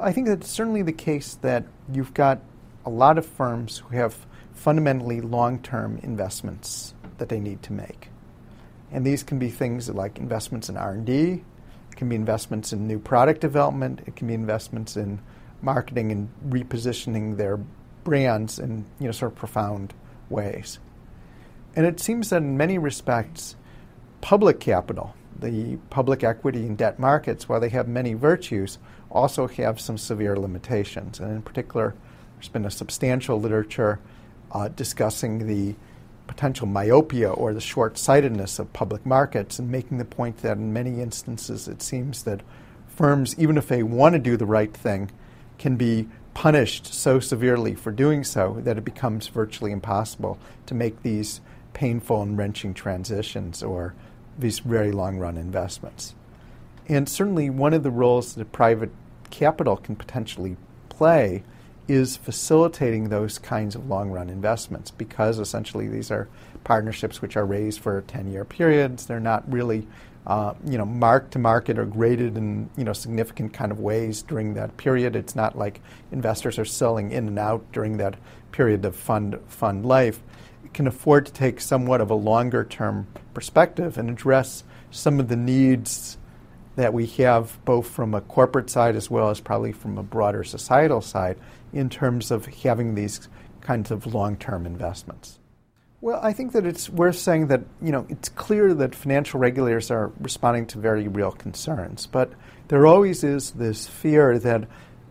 I think that's certainly the case that you've got a lot of firms who have fundamentally long-term investments that they need to make. And these can be things like investments in R&D, it can be investments in new product development, it can be investments in marketing and repositioning their brands in sort of profound ways. And it seems that in many respects, public capital, the public equity and debt markets, while they have many virtues, also have some severe limitations. And in particular, there's been a substantial literature discussing the potential myopia or the short-sightedness of public markets and making the point that in many instances it seems that firms, even if they want to do the right thing, can be punished so severely for doing so that it becomes virtually impossible to make these painful and wrenching transitions or these very long-run investments. And certainly one of the roles that private capital can potentially play is facilitating those kinds of long-run investments, because essentially these are partnerships which are raised for 10-year periods. They're not really marked to market or graded in significant kind of ways during that period. It's not like investors are selling in and out during that period of fund life. It can afford to take somewhat of a longer-term perspective and address some of the needs that we have both from a corporate side as well as probably from a broader societal side in terms of having these kinds of long-term investments. Well, I think that it's worth saying that, it's clear that financial regulators are responding to very real concerns, but there always is this fear that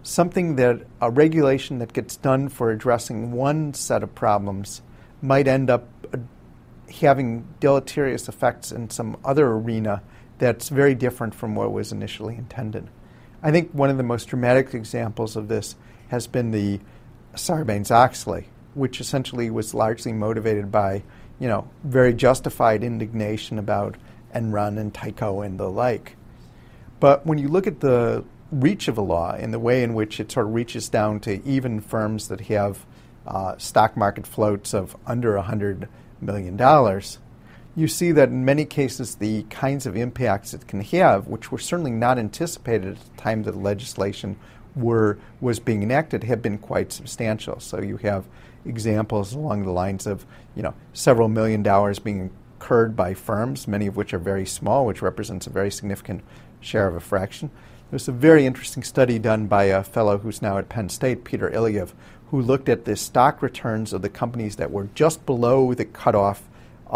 a regulation that gets done for addressing one set of problems might end up having deleterious effects in some other arena that's very different from what was initially intended. I think one of the most dramatic examples of this has been the Sarbanes-Oxley, which essentially was largely motivated by, very justified indignation about Enron and Tyco and the like. But when you look at the reach of a law and the way in which it sort of reaches down to even firms that have stock market floats of under $100 million, you see that in many cases the kinds of impacts it can have, which were certainly not anticipated at the time that the legislation was being enacted, have been quite substantial. So you have examples along the lines of several $1 million being incurred by firms, many of which are very small, which represents a very significant share of a fraction. There's a very interesting study done by a fellow who's now at Penn State, Peter Ilyev, who looked at the stock returns of the companies that were just below the cutoff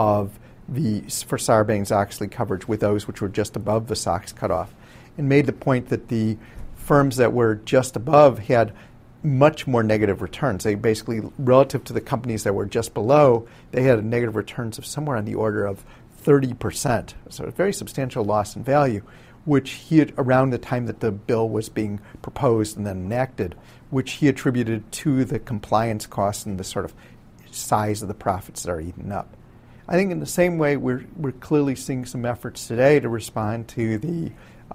for Sarbanes-Oxley coverage with those which were just above the SOX cutoff, and made the point that the firms that were just above had much more negative returns. They basically, relative to the companies that were just below, they had negative returns of somewhere on the order of 30%. So a very substantial loss in value, which he had, around the time that the bill was being proposed and then enacted, which he attributed to the compliance costs and the sort of size of the profits that are eaten up. I think in the same way, we're clearly seeing some efforts today to respond to the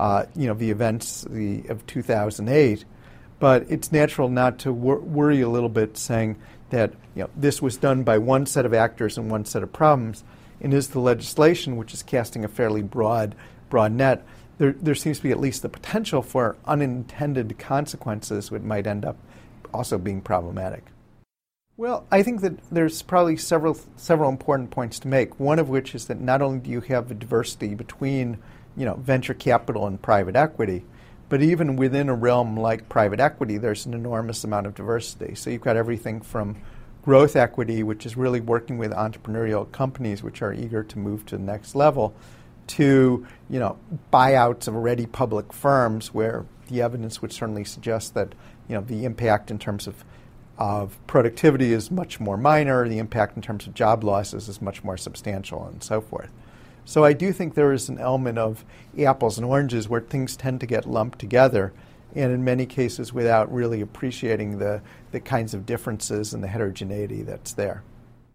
events of 2008. But it's natural not to worry a little bit, saying that this was done by one set of actors and one set of problems, and is the legislation, which is casting a fairly broad net, there seems to be at least the potential for unintended consequences which might end up also being problematic. Well, I think that there's probably several important points to make. One of which is that not only do you have a diversity between venture capital and private equity, but even within a realm like private equity, there's an enormous amount of diversity. So you've got everything from growth equity, which is really working with entrepreneurial companies which are eager to move to the next level, to buyouts of already public firms where the evidence would certainly suggest that the impact in terms of productivity is much more minor, the impact in terms of job losses is much more substantial, and so forth. So I do think there is an element of apples and oranges where things tend to get lumped together, and in many cases without really appreciating the kinds of differences and the heterogeneity that's there.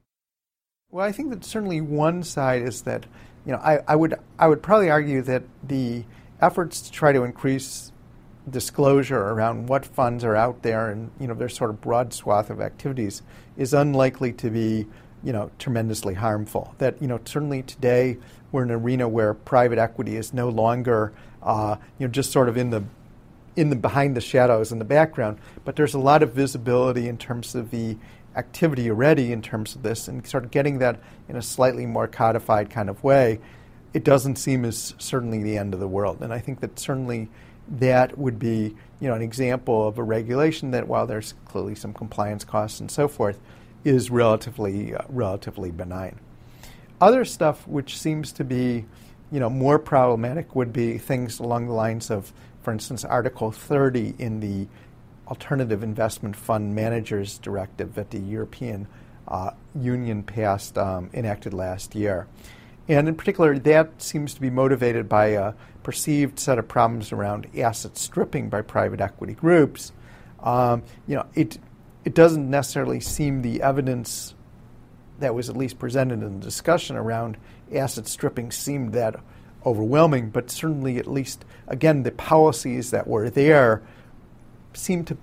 Well, I think that certainly one side is that I would probably argue that the efforts to try to increase disclosure around what funds are out there and their sort of broad swath of activities is unlikely to be tremendously harmful. That certainly today we're in an arena where private equity is no longer just sort of in behind the shadows in the background, but there's a lot of visibility in terms of the activity already in terms of this, and sort of getting that in a slightly more codified kind of way, it doesn't seem as certainly the end of the world. And I think that certainly that would be, an example of a regulation that, while there's clearly some compliance costs and so forth, is relatively benign. Other stuff which seems to be, more problematic would be things along the lines of, for instance, Article 30 in the Alternative Investment Fund Managers Directive that the European Union enacted last year. And in particular, that seems to be motivated by a perceived set of problems around asset stripping by private equity groups. It doesn't necessarily seem the evidence that was at least presented in the discussion around asset stripping seemed that overwhelming, but certainly, at least, again, the policies that were there seem to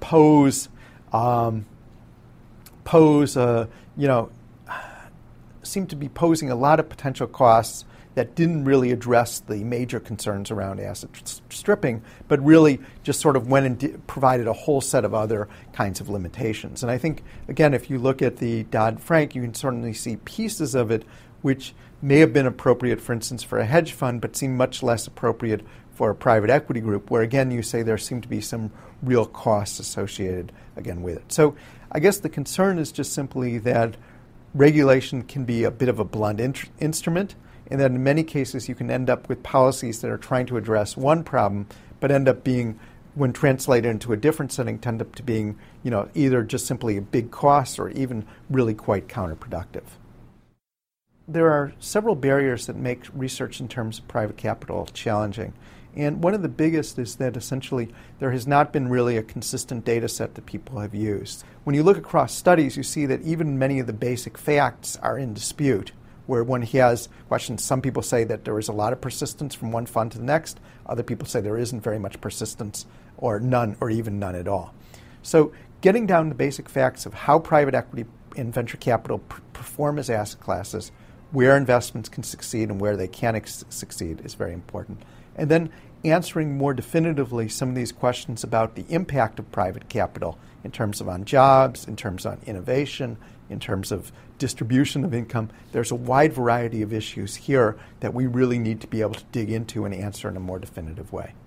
seem to be posing a lot of potential costs that didn't really address the major concerns around asset stripping, but really just sort of went and provided a whole set of other kinds of limitations. And I think, again, if you look at the Dodd-Frank, you can certainly see pieces of it which may have been appropriate, for instance, for a hedge fund, but seem much less appropriate for a private equity group, where, again, you say there seem to be some real costs associated, again, with it. So I guess the concern is just simply that regulation can be a bit of a blunt instrument, and that in many cases you can end up with policies that are trying to address one problem, but end up being, when translated into a different setting, tend up to being, either just simply a big cost or even really quite counterproductive. There are several barriers that make research in terms of private capital challenging. And one of the biggest is that essentially there has not been really a consistent data set that people have used. When you look across studies, you see that even many of the basic facts are in dispute, where one has questions. Some people say that there is a lot of persistence from one fund to the next. Other people say there isn't very much persistence, or none, or even none at all. So getting down to basic facts of how private equity and venture capital perform as asset classes, where investments can succeed and where they can't succeed, is very important. And then answering more definitively some of these questions about the impact of private capital in terms of on jobs, in terms on innovation, in terms of distribution of income. There's a wide variety of issues here that we really need to be able to dig into and answer in a more definitive way.